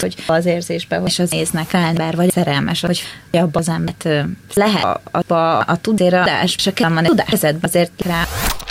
hogy az érzésben, és az néznek rá ember, vagy szerelmes, hogy abban az embert lehet a tudéradás, és a tudás kezedbe azért rá.